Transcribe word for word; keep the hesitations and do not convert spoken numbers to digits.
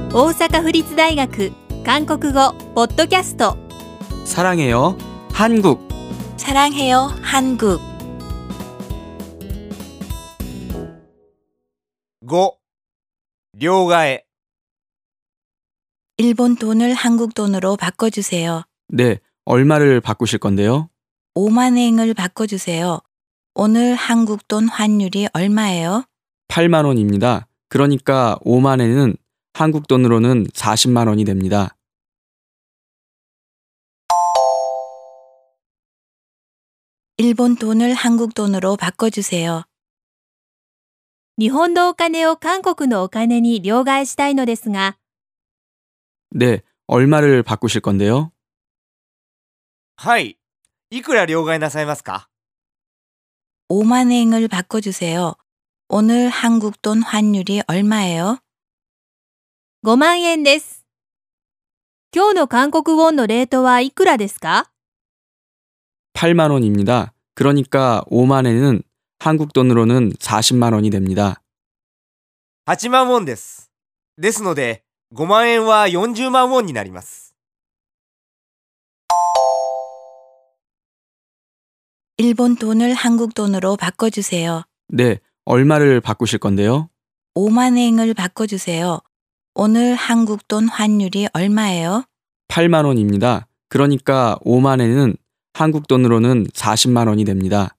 大阪府立大学韓国語ポッドキャスト 사랑해요 한국 사랑해요 한국 ご. 両替 일본 돈을 한국 돈으로 바꿔주세요. 네, 얼마를 바꾸실 건데요? 오만 엔을 바꿔주세요. 오늘 한국 돈 환율이 얼마예요? 팔만 원입니다. 그러니까 오만 엔은 한국 돈으로는 사십만 원이 됩니다. 일본 돈을 한국 돈으로 바꿔주세요. 日本のお金を韓国のお金に両替したいのですが 네, 얼마를 바꾸실 건데요? はい。いくら両替なさいますか 오만 엔을 바꿔주세요. 오늘 한국 돈 환율이 얼마예요? ごまんえんです。今日の韓国ウォンのレートはいくらですか 팔만 원입니다. 그러니까 오만 엔은 한국 돈으로는 사십만 원이 됩니다. はちまんウォンです。ですので、ごまん円はよんじゅうまんウォンになります。 일본 돈을 한국 돈으로 바꿔주세요. 네, 얼마를 바꾸실 건데요? 오만 엔을 바꿔주세요. 오늘 한국 돈 환율이 얼마예요? 팔만 원입니다. 그러니까 오만 엔은 한국 돈으로는 사십만 원이 됩니다.